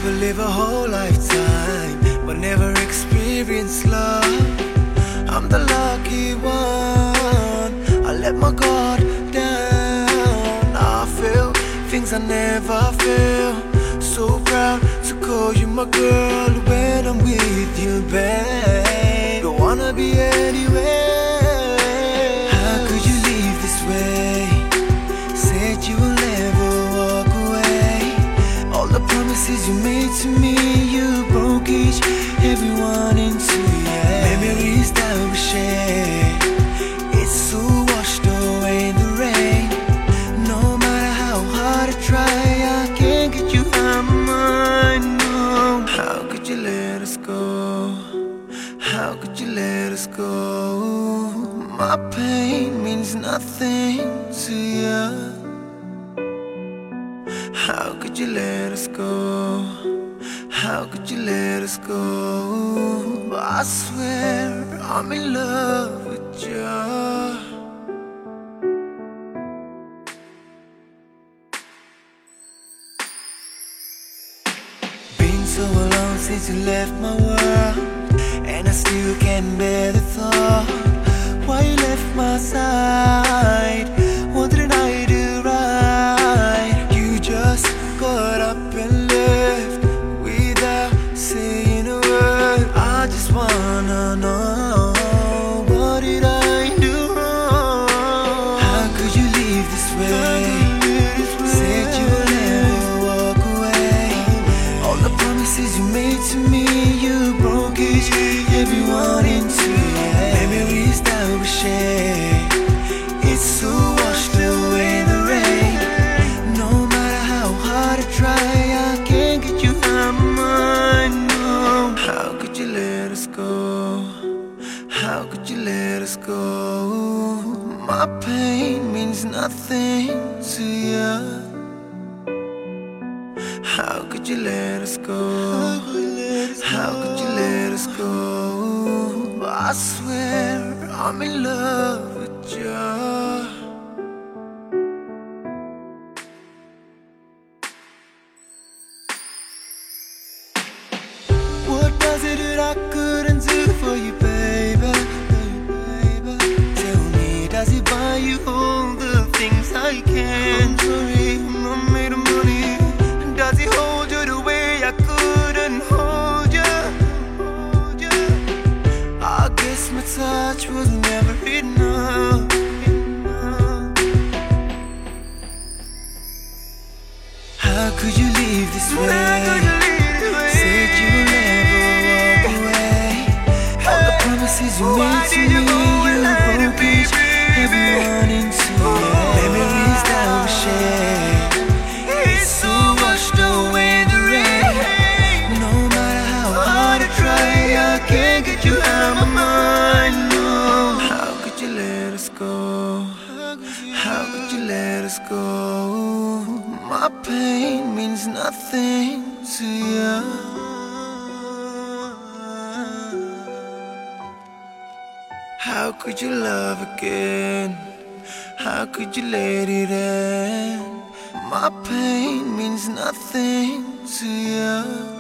People live a whole lifetime but never experience love. I'm the lucky one, I let my guard down. I feel things I never felt. So proud to call you my girl when I'm with you, babe. Don't wanna be anywhere. How could you leave this way? Said you will never walk away. All the promises you made to me, you broke each, everyone into, yeah. Memories that we share, it's so washed away in the rain. No matter how hard I try, I can't get you out of my mind, no. How could you let us go? How could you let us go? My pain means nothing to you. How could you let us go? How could you let us go? I swear I'm in love with you. Been so long since you left my world, and I still can't bear the thought why you left my side. What did I do right? You just got up and left without saying a word. I just wanna know, what did I do wrong? How could you leave this way? Said you would never walk away. All the promises you made to me, you broke each, everyone into, yeah. Memories that we share, it's so washed away in the rain. No matter how hard I try, I can't get you out of my mind, no. How could you let us go? How could you let us go? My pain means nothing to you. How could you let us go? How could you let us go? I swear I'm in love with you. What was it that I couldn't do for you, baby? Tell me, does it buy you all the things I can? I'm sorry, I'm not made of money. Does it hold you the way I couldn't hold you? I guess my touch was never enough. How could you leave this way? Said you would never walk away. All the promises you made to me, you broke each, everyone into, yeah. Memories that we share, it's so washed away in the rain. No matter how hard I try, I can't get you out of my mind, no. How could you let us go? How could you let us go? My pain means nothing to you. How could you love again? How could you let it end? My pain means nothing to you.